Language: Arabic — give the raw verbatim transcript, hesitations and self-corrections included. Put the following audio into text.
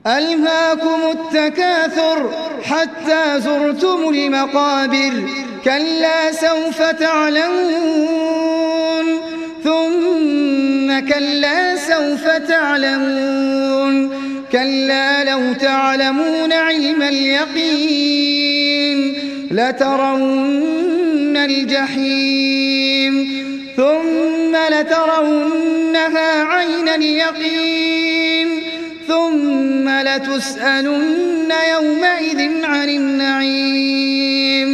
ألهاكم التكاثر حتى زرتم المقابر كلا سوف تعلمون ثم كلا سوف تعلمون كلا لو تعلمون علم اليقين لترون الجحيم ثم لترونها عين اليقين ثم لتسألن يومئذ عن النعيم